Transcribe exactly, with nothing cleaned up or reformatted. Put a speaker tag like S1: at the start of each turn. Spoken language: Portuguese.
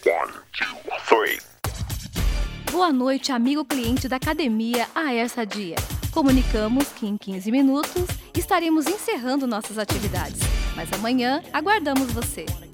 S1: One, two, three.
S2: Boa noite, amigo cliente da Academia A E Sadia. Comunicamos que em quinze minutos estaremos encerrando nossas atividades, mas amanhã aguardamos você.